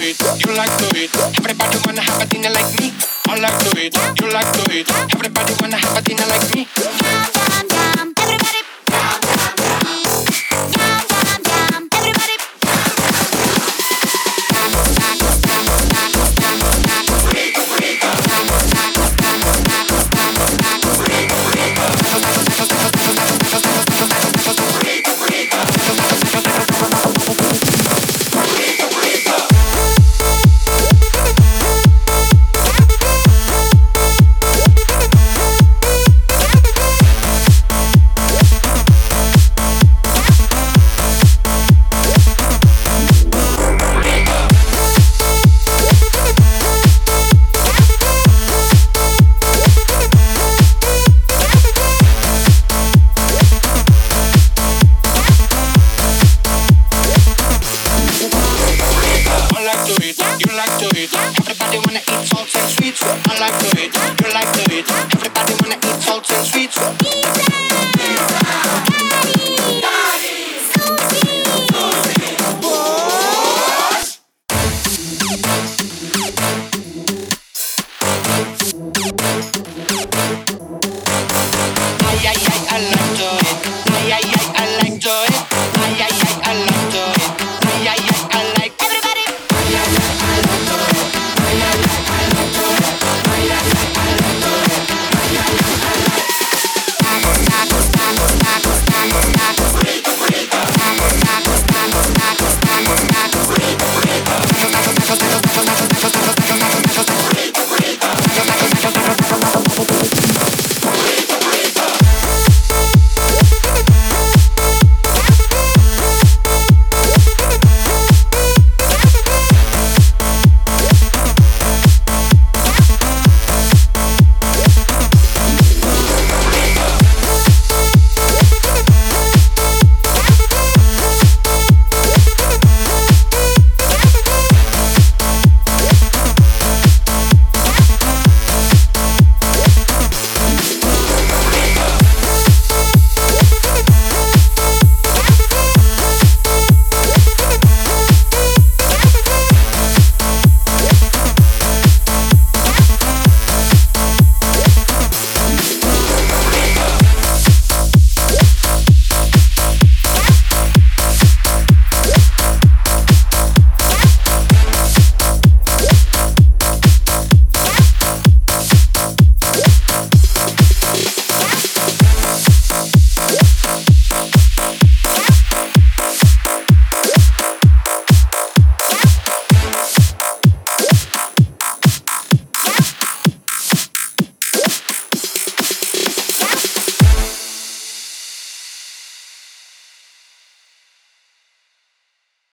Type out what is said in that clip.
it, you like to it. Everybody wanna have a dinner like me. I like to it, you like to it. Everybody wanna have a dinner like me. Yum, yum, yum. Everybody. Yum, yum, yum. Yum, yum, yum. Everybody. You like to it, everybody wanna eat salts and sweets. I like to